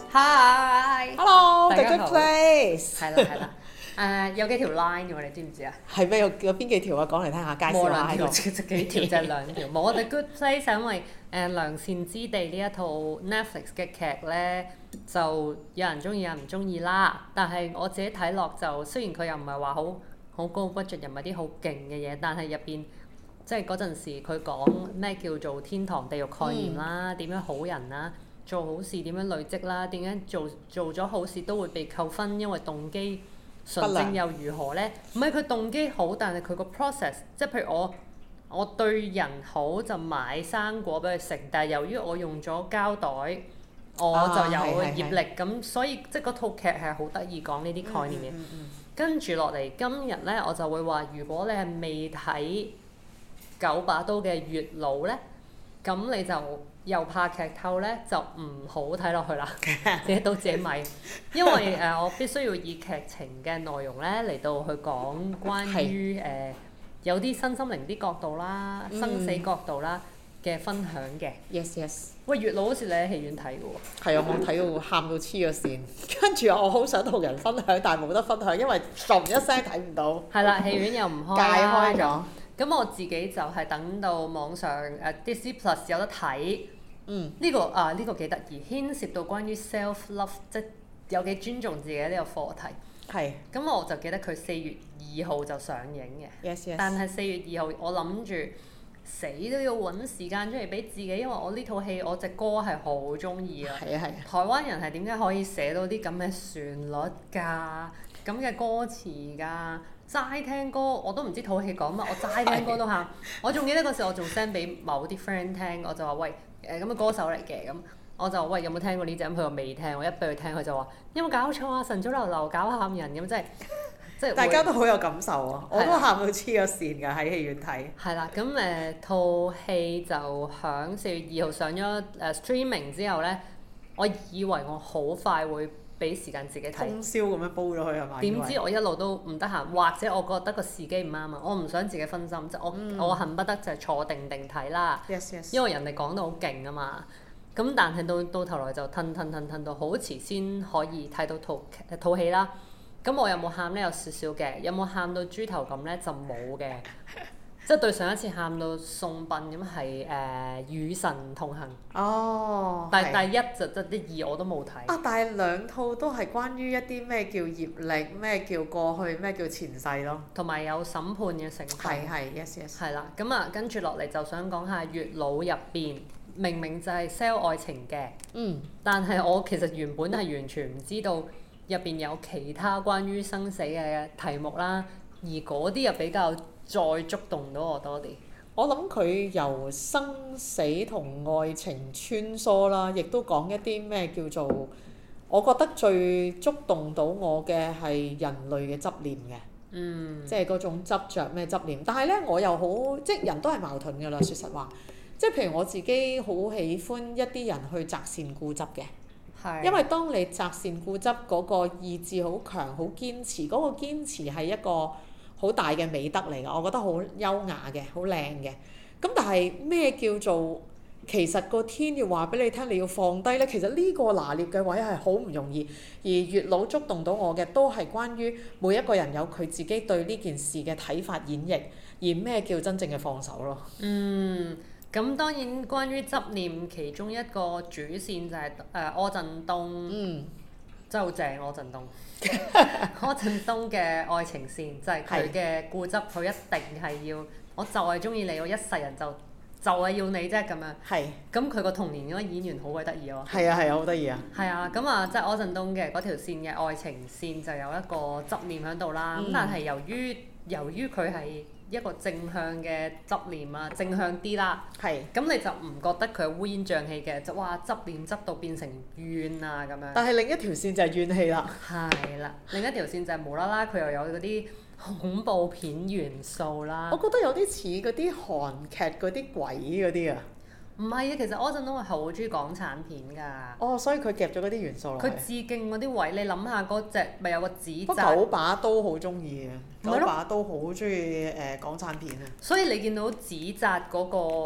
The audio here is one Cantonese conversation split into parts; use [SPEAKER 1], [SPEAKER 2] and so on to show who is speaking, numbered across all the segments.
[SPEAKER 1] Hi，Hello，
[SPEAKER 2] The Good Place。
[SPEAKER 1] 係啦，有幾條 line 嘅喎，你知唔知啊？
[SPEAKER 2] 係咩？有邊幾條啊？講嚟聽下，介紹下喺度。
[SPEAKER 1] 幾條就係兩條。冇The Good Place係因為良善之地呢一套 Netflix 嘅劇咧，就有人中意，有人唔中意啦。但係我自己睇落就，雖然佢又唔係話好高 budget，又唔係啲好勁嘅嘢，但係入邊即係嗰陣時佢講咩叫做天堂地獄概念啦，點樣好人啦。做好事點樣累積啦？點解做咗好事都會被扣分？因為動機純正又如何呢？唔係佢動機好，但係佢個 process， 即係譬如我對人好就買生果俾佢食，但係由於我用咗膠袋，我就有業力咁，所以即係嗰套劇係好得意講呢啲概念嘅。跟住落嚟今日呢，我就會話：如果你係未睇九把刀嘅月老呢，咁你就又怕劇透咧，就唔好睇落去啦，自己都自己咪，因為我必須要以劇情嘅內容咧嚟到去講關於有啲身心靈啲角度啦、生死角度啦嘅分享嘅。
[SPEAKER 2] Yes。
[SPEAKER 1] 喂，月老好似你喺戲院睇嘅喎。
[SPEAKER 2] 係啊，我睇到喊到黐咗線，跟住我好想同人分享，但係冇得分享，因為唰一聲睇唔到。
[SPEAKER 1] 係啦，戲院又唔開。
[SPEAKER 2] 戒開咗。
[SPEAKER 1] 咁我自己就係等到網上Disney Plus 有得睇，呢個幾得意，牽涉到關於 self love， 即係有幾尊重自己呢個課題。係。咁我就記得佢4月2號就上映嘅。
[SPEAKER 2] Yes。
[SPEAKER 1] 但係4月2號我諗住死都要揾時間出嚟俾自己，因為我呢套戲我隻歌係好中意啊。係啊。台灣人係點解可以寫到啲咁嘅旋律㗎？咁嘅歌詞㗎？齋聽歌我都唔知套戲講乜，我齋聽歌都喊。我仲記得嗰時我仲 send 俾某啲 friend 聽，我就話喂咁嘅歌手嚟嘅，咁我就喂有冇聽過呢隻？咁佢話未聽，我一俾佢聽佢就話有冇搞錯啊？晨早流流搞喊人咁，即係大家都好有感受啊！我都喊到黐咗線㗎喺戲院睇。係啦，咁套戲就響4月2號上咗streaming 之後咧，我以為我好快會俾時間自己睇，通宵咁樣煲咗佢係咪？點知我一路都唔得閒，或者我覺得個時機唔啱啊！我唔想自己分心，即係我恨不得就係坐定定睇啦。Yes。因為人哋講到好勁啊嘛，咁但係到頭來就褪到好遲先可以睇到套戲啦。咁我有冇喊咧？有少少嘅。有冇喊到豬頭咁咧？就冇嘅。即係對上一次喊到送殯咁係與神同行。哦。但係第一就第二我都冇睇。但係兩套都係關於一啲咩叫業力，咩叫過去，咩叫前世咯。同埋有審判嘅成分。Yes。係啦，咁跟住落嚟就想講下月老入邊，明明就係 sell 愛情嘅。但係我其實原本係完全唔知道入邊有其他關於生死嘅題目啦，而嗰啲又比較再觸動到我多啲。我諗佢由生死同愛情穿梭啦，亦都講一啲咩叫做，我覺得最觸動到我嘅係人類嘅執念嘅。即係嗰種執着咩執念。但係咧，我又好，即係人都係矛盾㗎啦。說實話，即係譬如我自己好喜歡一啲人去擇善固執嘅。因為當你擇善固執嗰個意志好強，好堅持，嗰個堅持係一個好大嘅美德嚟㗎，我覺得好優雅嘅，好靚嘅。咁但係咩叫做其實個天要話俾你聽，你要放低呢？其實呢個拿捏嘅位係好唔容易。而月老觸動到我嘅都係關於每一個人有佢自己對呢件事嘅睇法演繹，而咩叫真正嘅放手咯。咁當然關於執念，其中一個主線就係柯震東。真係好正，柯震東。柯震東嘅愛情線就係佢嘅固執，佢一定係要，我就係中意你，我一世人就係要你啫咁樣。咁佢個童年嗰個演員好鬼得意喎。係啊，好得意啊。係啊，咁即係柯震東嘅嗰條線嘅愛情線就有一個執念喺度啦。咁但係由於佢係一個正向嘅執念啊，正向啲啦。咁你就唔覺得佢係烏煙瘴氣嘅，就哇執念執到變成怨啊咁樣。但係另一條線就係怨氣啦。係啦，另一條線就係無啦啦佢又有嗰啲恐怖片元素啦。我覺得有啲似嗰啲韓劇嗰啲鬼嗰啲啊。唔係啊，其實柯震東係好中意港產片㗎。所以佢夾咗嗰啲元素落去。佢致敬嗰啲位，你諗下嗰隻咪有個紙紮。九把刀好中意嘅，九把刀好中意港產片啊。所以你見到紙紮嗰個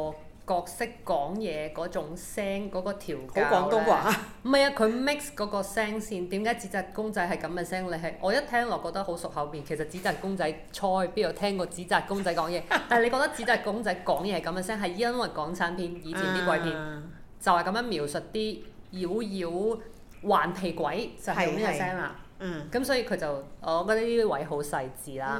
[SPEAKER 1] 角色講嘢嗰種聲嗰個調教
[SPEAKER 2] 好廣東話。
[SPEAKER 1] 唔係啊，佢 mix 嗰個聲線，點解紙紮公仔係咁嘅聲？你係我一聽落覺得好熟口面，其實紙紮公仔菜邊度聽過紙紮公仔講嘢？但係你覺得紙紮公仔講嘢係咁嘅聲，係因為港產片以前啲鬼片就係咁樣描述啲妖妖頑皮鬼就係咁嘅聲啦。咁所以佢就我覺得呢啲位好細緻啦。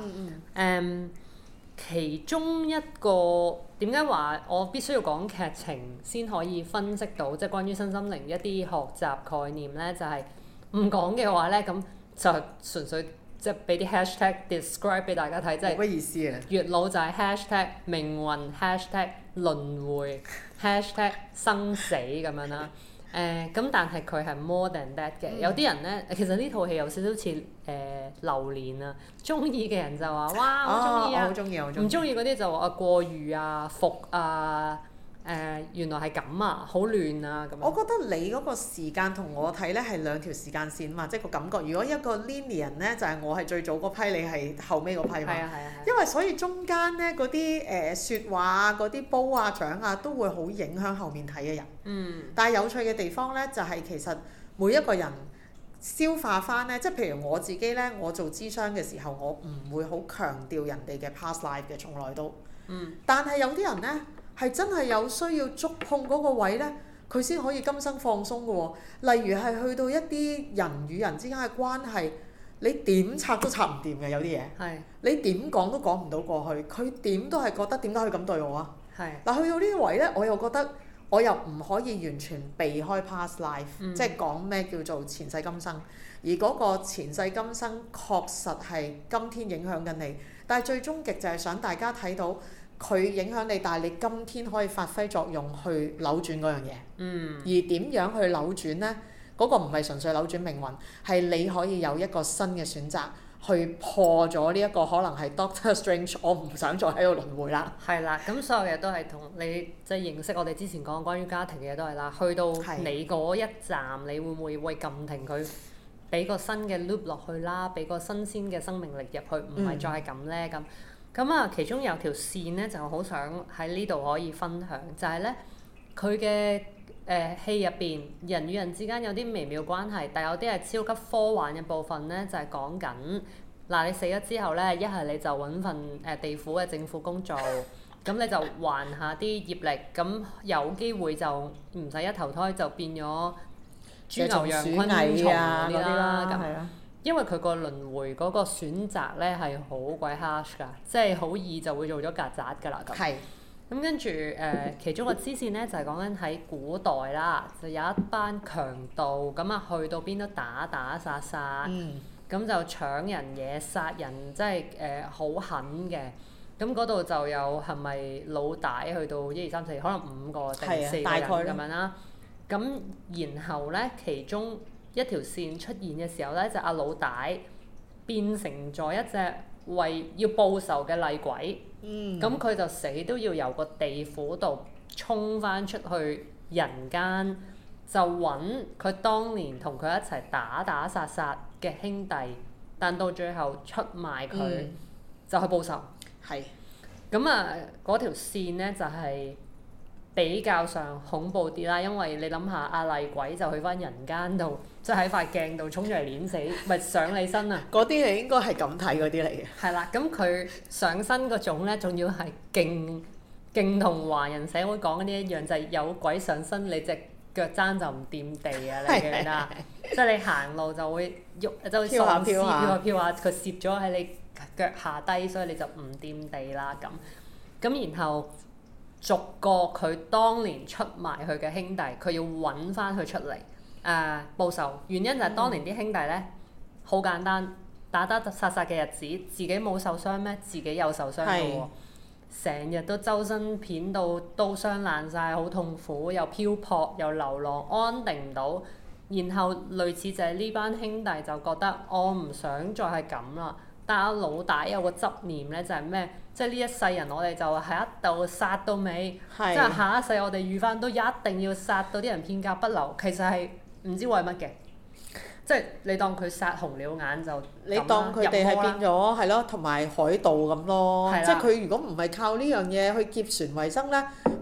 [SPEAKER 1] 其中一個點解話我必須要講劇情先可以分析到，即係關於身心靈一啲學習概念咧，就係唔講嘅話咧，咁就純粹即係俾啲 hashtag describe 俾大家睇，即係
[SPEAKER 2] 乜意思啊？
[SPEAKER 1] 月老就係 hashtag 命運 hashtag 輪迴 hashtag 生死咁樣啦。咁但係佢係 more than that 嘅。有啲人咧，其實呢套戲有少少似榴蓮啊，中意嘅人就話哇好中意啊，唔中意嗰啲就話過譽啊、服啊，原來係咁啊，好亂啊咁樣。
[SPEAKER 2] 我覺得你嗰個時間同我睇咧係兩條時間線嘛，即係個感覺。如果一個 linear 咧，就係我係最早嗰批，你係後尾嗰批嘛。係啊。因為所以中間咧嗰啲説話啊、嗰啲褒啊、獎啊，都會好影響後面睇嘅人。但係有趣嘅地方咧，就係其實每一個人消化翻咧，即係譬如我自己咧，我做諮商嘅時候，我唔會好強調人哋嘅 past life 嘅，從來都。但係有啲人咧。係真係有需要觸碰嗰個位呢，佢先可以今生放鬆嘅喎。例如係去到一啲人與人之間嘅關係，你點拆都拆唔掂嘅有啲嘢。係。你點講都講唔到過去，佢點都係覺得點解佢咁對我啊？係。嗱，去到呢啲位呢，我又覺得我又唔可以完全避開 past life，即係講咩叫做前世今生。而嗰個前世今生確實係今天影響緊你，但係最終極就係想大家睇到。佢影響你，但係你今天可以發揮作用去扭轉嗰樣嘢。而點樣去扭轉呢？嗰個唔係純粹扭轉命運，係你可以有一個新嘅選擇，去破咗呢一個可能係 Doctor Strange， 我唔想再喺度輪迴啦。係啦，
[SPEAKER 1] 咁所有嘢都係同你即係認識我哋之前講關於家庭嘅嘢都係啦。去到你嗰一站，你會唔會撳停佢，俾個新嘅 loop 落去啦，俾個新鮮嘅生命力入去，唔係再係咁呢？咁啊，其中有條線咧，就好想喺呢度可以分享，就係咧佢嘅戲入邊，人與人之間有啲微妙關係，但有啲係超級科幻嘅部分咧，就係講緊嗱，你死咗之後咧，一係你就揾份地府嘅政府工做，咁你就還下啲業力，咁有機會就唔使一投胎就變咗豬牛羊昆蟲嗰啲啦，咁。因為佢個輪迴嗰個選擇咧係好鬼 harsh 㗎，即係好易就會做咗曱甴㗎啦咁。係。咁跟住其中個支線咧就係講緊喺古代啦，就有一班強盜咁啊，去到邊都打打殺殺，咁就搶人嘢、殺人，即係好狠嘅。咁嗰度就有係咪老大去到1、2、3、4，可能5個定4個人咁樣啦。咁然後咧，其中一條線出現嘅時候咧，就阿老大變成咗一隻為要報仇嘅厲鬼，咁佢就死都要由個地府度衝翻出去人間，就揾佢當年同佢一齊打打殺殺嘅兄弟，但到最後出賣佢，就去報仇。係。咁啊，嗰條線咧就係比較上恐怖啲啦，因為你諗下，阿厲鬼就去翻人間度，即係喺塊鏡度衝出嚟碾死，咪上你身啊！嗰啲係應該係咁睇嗰啲嚟嘅。係啦，咁佢上身嗰種咧，仲要係勁同華人社會講嗰啲一樣，就係有鬼上身，你隻腳踭就唔掂地啊！你記唔記得？即係你行路就會喐，就會飄下飄下，佢攝咗喺你腳下低，所以你就唔掂地啦咁。咁然後逐個佢當年出賣佢嘅兄弟，佢要揾翻佢出嚟報仇。原因就係當年啲兄弟咧，好簡單，打打殺殺嘅日子，自己冇受傷咩？自己有受傷嘅喎，成日都周身片到刀傷爛晒，好痛苦，又漂泊又流浪，安定唔到。然後類似就係呢班兄弟就覺得我唔想再係咁啦。但阿老大有個執念咧，就係咩？即係呢一世人我哋就喺一度殺到尾，即係下一世我哋遇翻都一定要殺到啲人片甲不留。其實係唔知為乜嘅，即係你當佢殺紅了眼就你當佢哋係變咗係咯，同埋海盜咁咯。即係佢如果唔係靠呢樣嘢去劫船為生咧，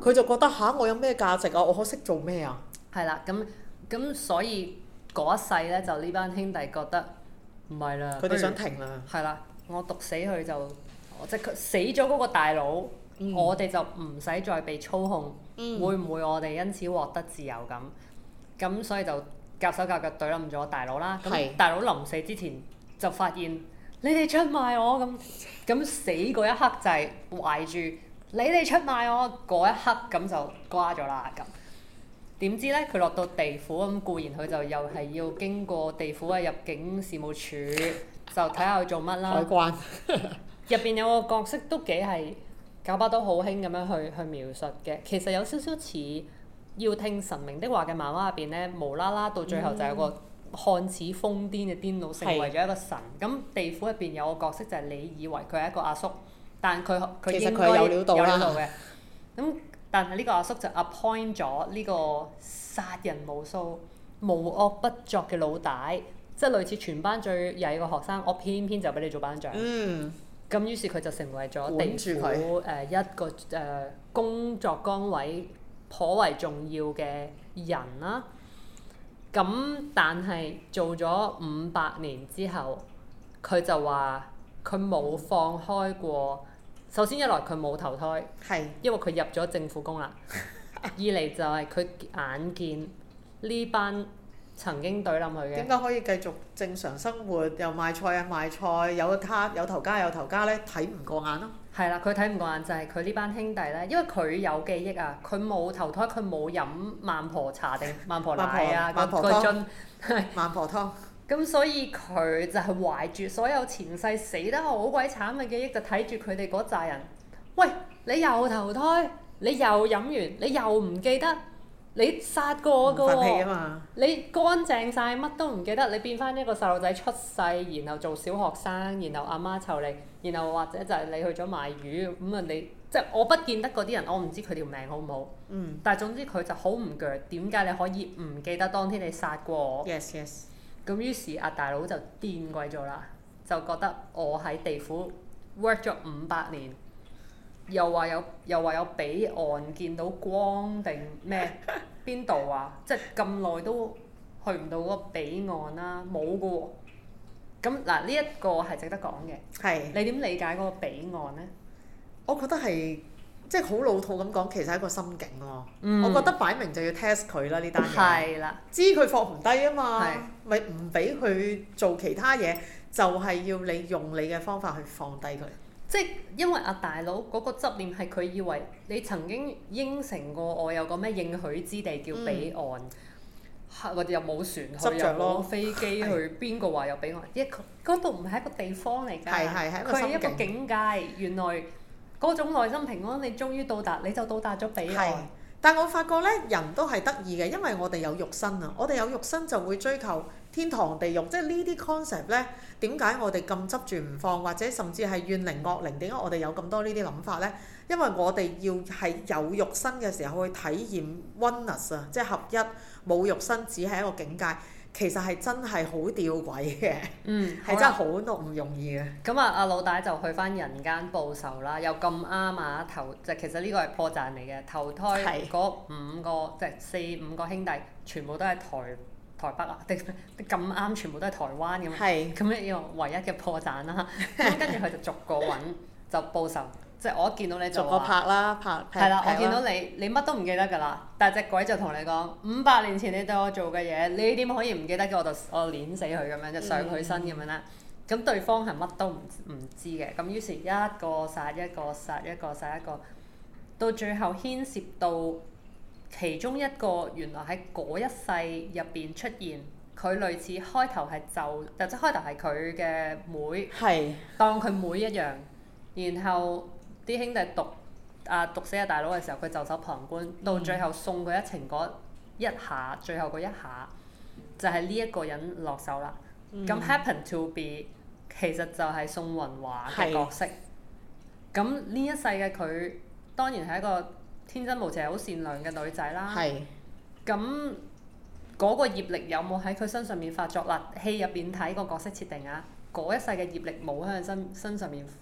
[SPEAKER 2] 佢就覺得嚇我有咩價值啊？我可識做咩啊？
[SPEAKER 1] 係啦，咁所以嗰一世咧，就呢班兄弟覺得唔係啦。
[SPEAKER 2] 佢哋想停啦。
[SPEAKER 1] 係啦，我毒死佢就，即係佢死咗嗰個大佬，我哋就唔使再被操控。會唔會我哋因此獲得自由咁？咁所以就夾手夾腳懟冧咗大佬啦。咁大佬臨死之前就發現你哋出賣我咁死嗰一刻就係懷住你哋出賣我嗰一刻咁就瓜咗啦咁。點知咧佢落到地府咁，固然佢就又係要經過地府嘅入境事務處，就睇下佢做乜啦。海關入邊有個角色都幾係九把刀好興咁樣去描述嘅，其實有少少似要聽神明的話嘅漫畫入邊咧，無啦啦到最後就有個看似瘋癲嘅癲佬成為咗一個神。咁地府入邊有個角色就係你以為佢係一個阿叔，但佢應該有料到嘅。咁但係呢個阿叔就 appoint 咗呢個殺人無數、無惡不作嘅老大，即係類似全班最曳個學生，我偏偏就俾你做班長。咁於是佢就成為咗地府一個工作崗位頗為重要嘅人啦。咁但係做咗500年之後，佢就話佢冇放開過。首先一來佢冇投胎，因為佢入咗政府工啦。二嚟就係佢眼見呢班曾經懟冧佢嘅。點解可以繼續正常生活？又賣菜啊賣菜，有頭家咧，睇唔過眼咯。係啦，佢睇唔過眼就係佢呢班兄弟咧，因為佢有記憶啊，佢冇投胎，佢冇飲孟婆茶定孟婆奶啊，個樽孟婆湯。咁所以佢就係懷住所有前世死得好鬼慘嘅記憶，就睇住佢哋嗰扎人。喂，你又投胎，你又飲完，你又唔記得，你殺過㗎喎，你乾淨晒，乜都唔記得，你變翻一個細路仔出世，然後做小學生，然後阿媽湊你，然後或者就係你去咗賣魚咁啊！你即係我不見得嗰啲人，我唔知佢條命好唔好。但係總之佢就好唔鋸，點解你可以唔記得當天你殺過我？Yes yes。咁於是阿大佬就癲鬼咗啦，就覺得我喺地府 work 咗500年，又話有彼岸見到光定咩？邊度啊？即係咁耐都去唔到嗰個彼岸啦，冇㗎喎。咁嗱，呢一個係值得講嘅。你點理解嗰個彼岸呢？我覺得係即係好老土咁講，其實係一個心境喎。我覺得擺明就要 test 佢啦，呢單嘢。知佢放唔低啊嘛，咪唔俾佢做其他嘢，就係要你用你嘅方法去放低佢。即係因為阿大佬嗰個執念係佢以為你曾經應承過我有個咩應許之地叫彼岸，或者又冇船去，又冇飛機去，邊個話有彼岸？嗰度唔係一個地方嚟㗎，佢係一個境界。原來嗰種內心平安，你終於到達，你就到達咗彼岸。但我發覺咧，人都係得意嘅，因為我哋有肉身啊，我哋有肉身就會追求天堂地獄，即係呢啲 concept 咧，點解我哋咁執住唔放，或者甚至係怨靈惡靈？點解我哋有咁多呢啲諗法咧？因為我哋要係有肉身嘅時候去體驗 oneness 啊，即係合一，冇肉身只係一個境界。其實係真係好吊詭嘅，係真係好唔容易嘅。咁阿老大就去翻人間報仇啦，又咁啱啊其實呢個係破綻嚟嘅，投胎嗰5個即係4-5個兄弟，全部都係台北啊，定咁啱全部都係台灣咁，咁呢個唯一嘅破綻啦。咁跟住佢就逐個揾就報仇。即係我一見到你就話，逐個拍啦，係啦，我見到你乜都唔記得㗎啦。但係隻鬼就同你講，500年前你對我做嘅嘢，你點可以唔記得嘅？我碾死佢咁樣，就上佢身咁樣啦。咁對方係乜都唔知嘅。咁於是一個殺一個，殺一個殺一個，到最後牽涉到其中一個原來喺嗰一世入邊出現，佢類似開頭係即係開頭係佢嘅妹，當佢妹一樣，然後。啲兄弟毒死阿大佬嘅時候，佢袖手旁觀，到最後送佢一程嗰一下，最後嗰一下就係呢一個人落手啦。咁 happen to be 其實就係宋雲華嘅角色。咁呢一世嘅佢當然係一個天真無邪、好善良嘅女仔啦。咁嗰個業力有冇喺佢身上面發作啦？戲入邊睇個角色設定啊，嗰一世嘅業力冇喺佢身上面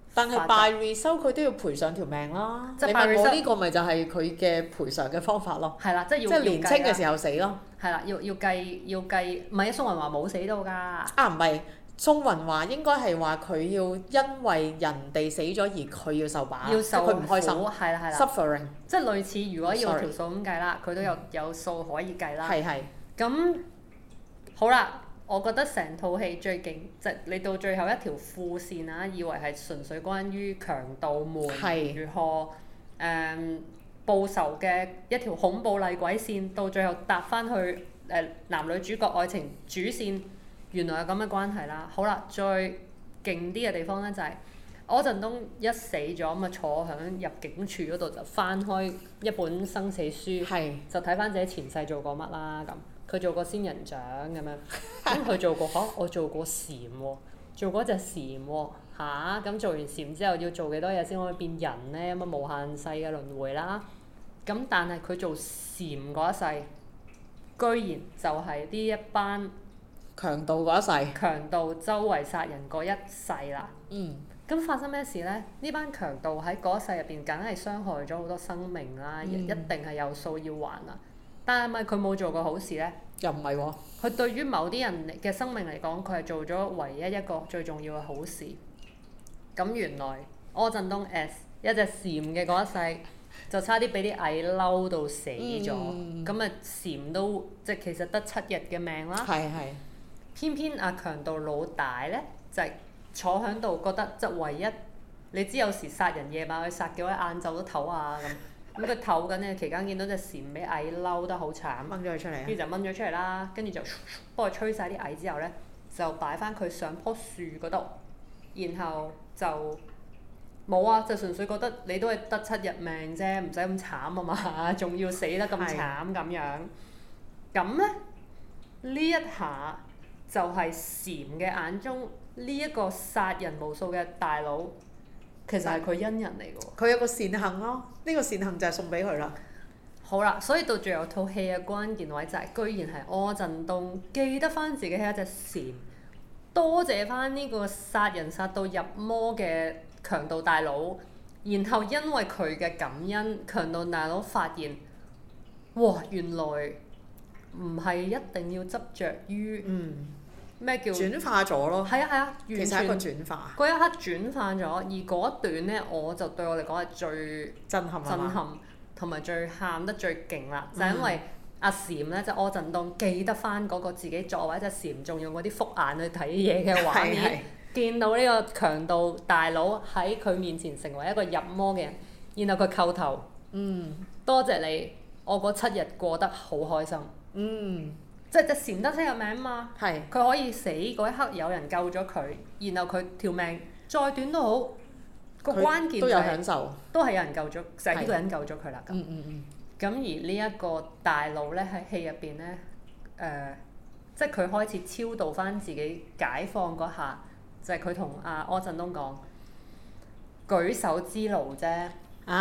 [SPEAKER 2] 但係 by result 佢都要賠上條命啦。你問我呢個咪就係佢嘅賠償嘅方法咯。
[SPEAKER 1] 係啦，即係
[SPEAKER 2] 年青嘅時候死咯。
[SPEAKER 1] 係啦，要計，唔係啊！宋雲華冇死到㗎。
[SPEAKER 2] 啊，唔係，宋雲華應該係話佢要因為人哋死咗而佢要受把，
[SPEAKER 1] 要受
[SPEAKER 2] 佢唔開心。
[SPEAKER 1] 係啦。
[SPEAKER 2] Suffering。
[SPEAKER 1] 即係類似，如果要條數咁計啦，佢都有數可以計啦。
[SPEAKER 2] 係。咁
[SPEAKER 1] 好啦。我覺得成套戲最勁，即係你到最後一條副線啊，以為係純粹關於強盜們如何報仇嘅一條恐怖厲鬼線，到最後搭翻去男女主角愛情主線，原來係咁嘅關係啦。好啦，最勁啲嘅地方咧就係柯震東一死咗咁啊，坐響入境處嗰度就翻開一本生死書，就睇翻自己前世做過乜啦咁。佢做過仙人掌咁樣，咁佢做過我做過蟬喎，做過隻蟬喎嚇，咁做完蟬之後要做幾多嘢先可以變人呢？咁啊無限世嘅輪迴啦。咁但係佢做蟬嗰一世，居然就係呢一班
[SPEAKER 2] 強盜嗰一世。強
[SPEAKER 1] 盜周圍殺人嗰一世啦。咁發生咩事呢？呢班強盜喺嗰一世入邊，梗係傷害咗好多生命啦，一定係有數要還啦。但係咪佢冇做過好事呢？
[SPEAKER 2] 又唔係喎。
[SPEAKER 1] 佢對於某啲人嘅生命嚟講，佢係做咗唯一一個最重要嘅好事。咁原來柯震東 as 一隻蟬嘅嗰一世，就差啲俾啲蟻嬲到死咗。咁啊蟬都即係其實得7日嘅命啦。偏偏阿強盜老大呢，就係坐喺度覺得即係唯一，你知有時殺人夜晚去殺幾位晏晝都唞下咁。咁佢唞緊嘅期間，見到隻蟬俾蟻嬲得好慘，
[SPEAKER 2] 掹咗佢出嚟，
[SPEAKER 1] 跟住就掹咗出嚟啦。跟住就幫佢吹晒啲蟻之後呢，就擺翻佢上棵樹嗰度，然後就冇啊，就純粹覺得你都係得7日命啫，唔使咁慘啊嘛，仲要死得咁慘咁樣。咁呢，呢一下就係蟬嘅眼中呢一個殺人無數嘅大佬。其實係佢恩人嚟嘅喎，
[SPEAKER 2] 佢有個善行咯，呢個善行就係送俾佢啦。
[SPEAKER 1] 好啦，所以到最後套戲嘅關鍵位就係，居然係柯震東記得翻自己係一隻蟬，多謝翻呢個殺人殺到入魔嘅強盜大佬，然後因為佢嘅感恩，強盜大佬發現，哇，原來唔係一定要執着於咩叫
[SPEAKER 2] 轉化咗咯？
[SPEAKER 1] 係啊，完全
[SPEAKER 2] 其實係一個轉化。
[SPEAKER 1] 嗰一刻轉化咗，而嗰一段呢，我就對我嚟講係最震撼同埋最喊得最勁啦，就係因為阿蟬呢，即係柯震東記得翻嗰個自己作為一隻蟬，仲用嗰啲複眼去睇嘢嘅畫面，見到呢個強盜大佬喺佢面前成為一個入魔嘅人，然後佢叩頭，多謝你，我嗰7日過得好開心。即係隻蟬得7日命嘛，佢可以死嗰一刻有人救咗佢，然後佢條命再短都好，個關鍵就係都有享受，都係有人救咗，就係呢個人救咗佢啦咁。咁而呢一個大佬呢，喺戲入邊呢，即係佢開始超度翻自己解放嗰下，就係佢同阿柯震東講舉手之勞啫。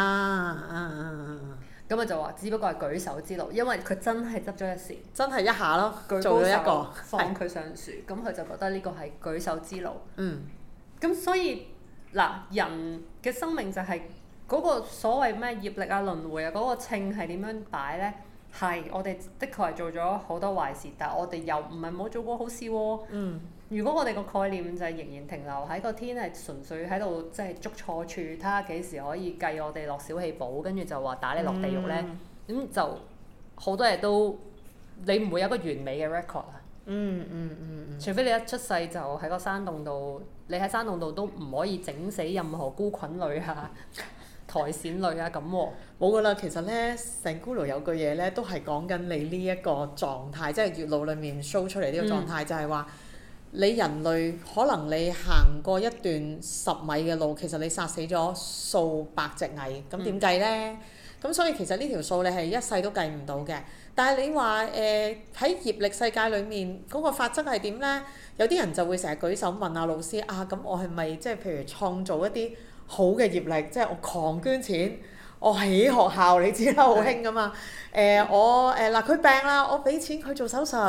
[SPEAKER 1] 咁就話，只不過係舉手之勞，因為佢真係執咗隻蟬，真係一下咯，做咗一個放佢上樹，咁佢就覺得呢個係舉手之勞。咁所以嗱，人嘅生命就係嗰個所謂咩業力啊、輪迴啊，嗰個稱係點樣擺呢？係我哋的確係做咗好多壞事，但係我哋又唔係冇做過好事喎。如果我哋個概念就係仍然停留喺個天係純粹喺度即係捉錯處，睇下幾時可以計我哋落小氣簿，跟住就話打你落地獄呢，咁就好多嘢都你唔會有一個完美嘅 record 啊。除非你一出世就喺個山洞度，你喺山洞度都唔可以整死任何菇菌類啊、苔蘚類啊咁喎。冇噶啦，其實呢，成咕嚕有句嘢呢，都係講緊你呢一個狀態，即係月老裡面 show 出嚟呢個狀態，就係話。你人類可能你行過一段10米嘅路，其實你殺死咗數百隻蟻，咁點計呢？咁所以其實呢條數你係一世都計唔到嘅。但係你話喺業力世界裡面嗰個法則係點呢？有啲人就會成日舉手問阿老師啊，咁我係咪即係譬如創造一啲好嘅業力，即係我狂捐錢，我起學校，你知啦，好興㗎嘛。我嗱佢病啦，我俾錢佢做手術。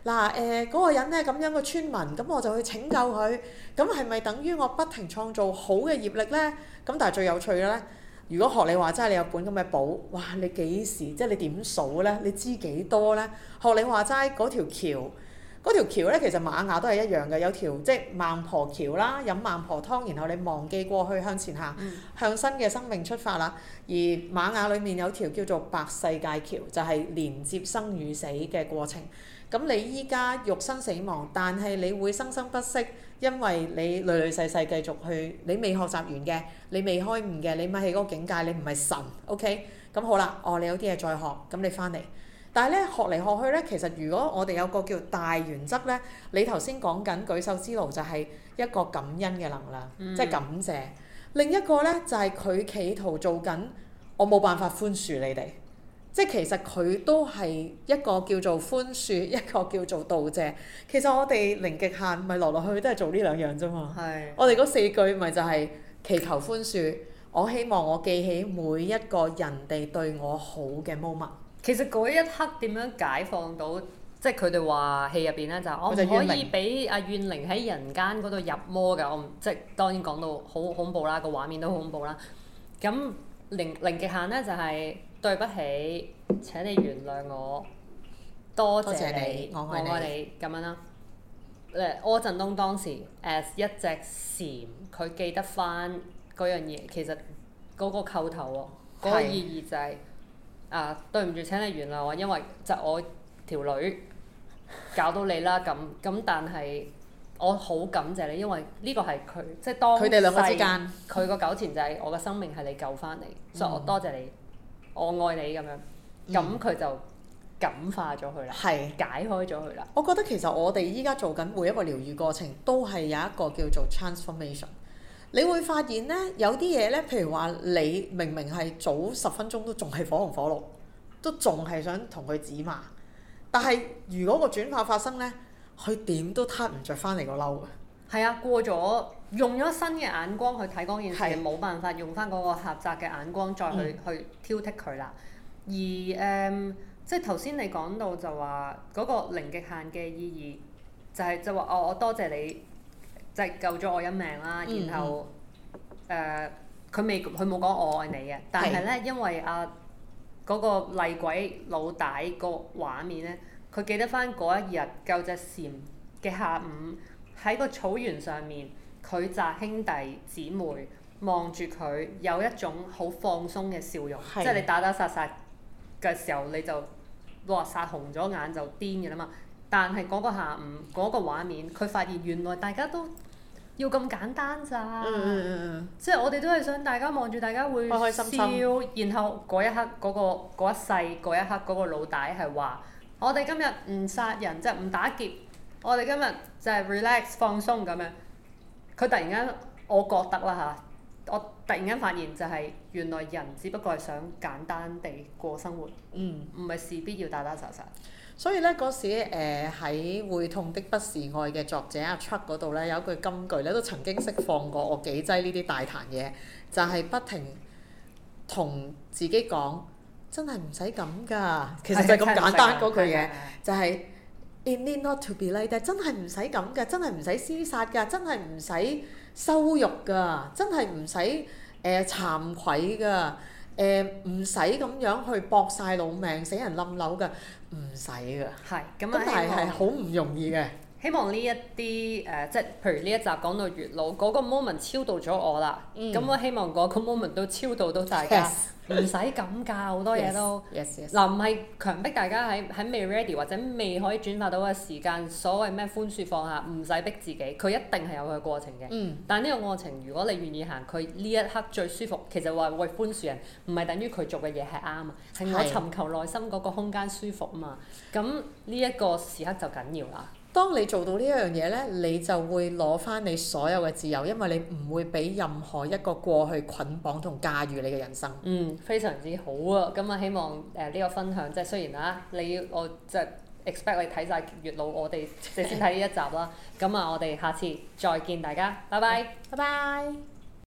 [SPEAKER 2] 嗱嗰個人咧咁樣個村民，咁我就去拯救佢，咁係咪等於我不停創造好嘅業力咧？咁但係最有趣嘅咧，如果學你話齋，你有本咁嘅簿，哇！你幾時即係你點數咧？你知幾多咧？學你話齋嗰條橋。嗰條橋咧，其實瑪雅都係一樣嘅，有條即係孟婆橋啦，飲孟婆湯，然後你忘記過去向前行，向新嘅生命出發啦。而瑪雅裡面有條叫做白世界橋，就係連接生與死嘅過程。咁你依家肉身死亡，但係你會生生不息，因為你累累世世繼續去，你未學習完嘅，你未開悟嘅，你咪喺嗰個境界，你唔係神，OK？咁好啦，你有啲嘢再學，咁你翻嚟。但係咧，學嚟學去咧，其實如果我哋有個叫大原則咧，你頭先講緊舉手之勞就係一個感恩嘅能量，即係感謝。另一個咧就係佢企圖做緊，我冇辦法寬恕你哋，即係其實佢都係一個叫做寬恕，一個叫做道謝。其實我哋零極限咪落去都係做呢兩樣啫嘛。係。我哋嗰4句咪就係祈求寬恕，我希望我記起每一個人哋對我好嘅 moment。
[SPEAKER 1] 其實嗰一刻點樣解放到，即係佢哋話戲入邊咧就我唔可以俾阿怨靈喺人間嗰度入魔㗎，我即係當然講到好恐怖啦，個畫面都好恐怖啦。咁零極限咧就係對不起，請你原諒我，多謝你，我愛你咁樣啦。柯震東當時 as 一隻蟬，佢記得翻嗰樣嘢，其實嗰個構頭喎，嗰個意義就係。對唔住，請你原諒我，因為就我條女搞到你啦咁，但係我好感謝你，因為呢個係佢即係當佢哋兩個之間，佢個糾纏就係我嘅生命係你救翻嚟，所以我多謝你，我愛你咁樣，咁佢就感化咗佢啦，解開咗佢啦。
[SPEAKER 2] 我覺得其實我哋依家做緊每一個療愈過程，都係有一個叫做 transformation。你會發現咧，有啲嘢咧，譬如話你明明係早10分鐘都仲係火紅火綠，都仲係想同佢指罵，但係如果個轉化發生咧，佢點都撻唔着翻嚟個嬲嘅。係
[SPEAKER 1] 啊，過咗用咗新嘅眼光去睇嗰件事，冇辦法用翻嗰個狹窄嘅眼光再去挑剔佢啦。而即係頭先你講到就話嗰個零極限嘅意義，就話我多謝你。即係救咗我一命啦，然後佢冇講我愛你嘅，但係咧因為嗰個厲鬼老大個畫面咧，佢記得翻嗰一日救隻蟬嘅下午喺個草原上面，佢紮兄弟姊妹望住佢有一種好放鬆嘅笑容，即係你打殺嘅時候你就殺紅咗眼就癲嘅啦嘛。但係嗰個下午嗰個畫面，佢發現原來大家都要咁簡單咋，即係我哋都係想大家望住大家會笑，開開心心。然後嗰一刻嗰一世嗰一刻嗰個老大係話：我哋今日唔殺人，即係唔打劫，我哋今日就係 relax 放鬆咁樣。佢突然間，我覺得啦嚇，我突然間發現就係原來人只不過係想簡單地過生活，唔係事必要打殺殺。所以咧嗰時喺會痛的不是愛嘅作者阿 Chuck 嗰度咧有一句金句咧都曾經釋放過我幾劑呢啲大壇嘢，就係不停同自己講真係唔使咁㗎，其實就係咁簡單嗰句嘢，就係 It need not to be like that，真係唔使咁㗎，真係唔使廝殺㗎，真係唔使羞辱㗎，真係唔使慚愧㗎。唔使咁樣去搏晒老命死人冧樓㗎，唔使㗎。係咁但係好唔容易嘅。希望呢一啲即係譬如呢一集講到月老嗰個 moment 超度咗我啦，咁我希望嗰個 moment 都超度到大家，唔使咁㗎，好多嘢都。嗱唔係強迫大家喺未 ready 或者未可以轉化到嘅時間，所謂咩寬恕放下，唔使逼自己，佢一定係有佢嘅過程嘅。但係呢個過程，如果你願意行，佢呢一刻最舒服，其實話為寬恕人，唔係等於佢做嘅嘢係啱啊，係我尋求內心嗰個空間舒服啊嘛。咁呢一個時刻就緊要啦。當你做到呢一樣嘢咧，你就會攞翻你所有嘅自由，因為你唔會俾任何一個過去捆綁同駕馭你嘅人生。非常之好啊！咁啊，希望呢個分享即係雖然我即係 expect 你睇晒月老，我哋先睇呢一集啦。咁啊，我哋下次再見大家，拜拜。拜拜。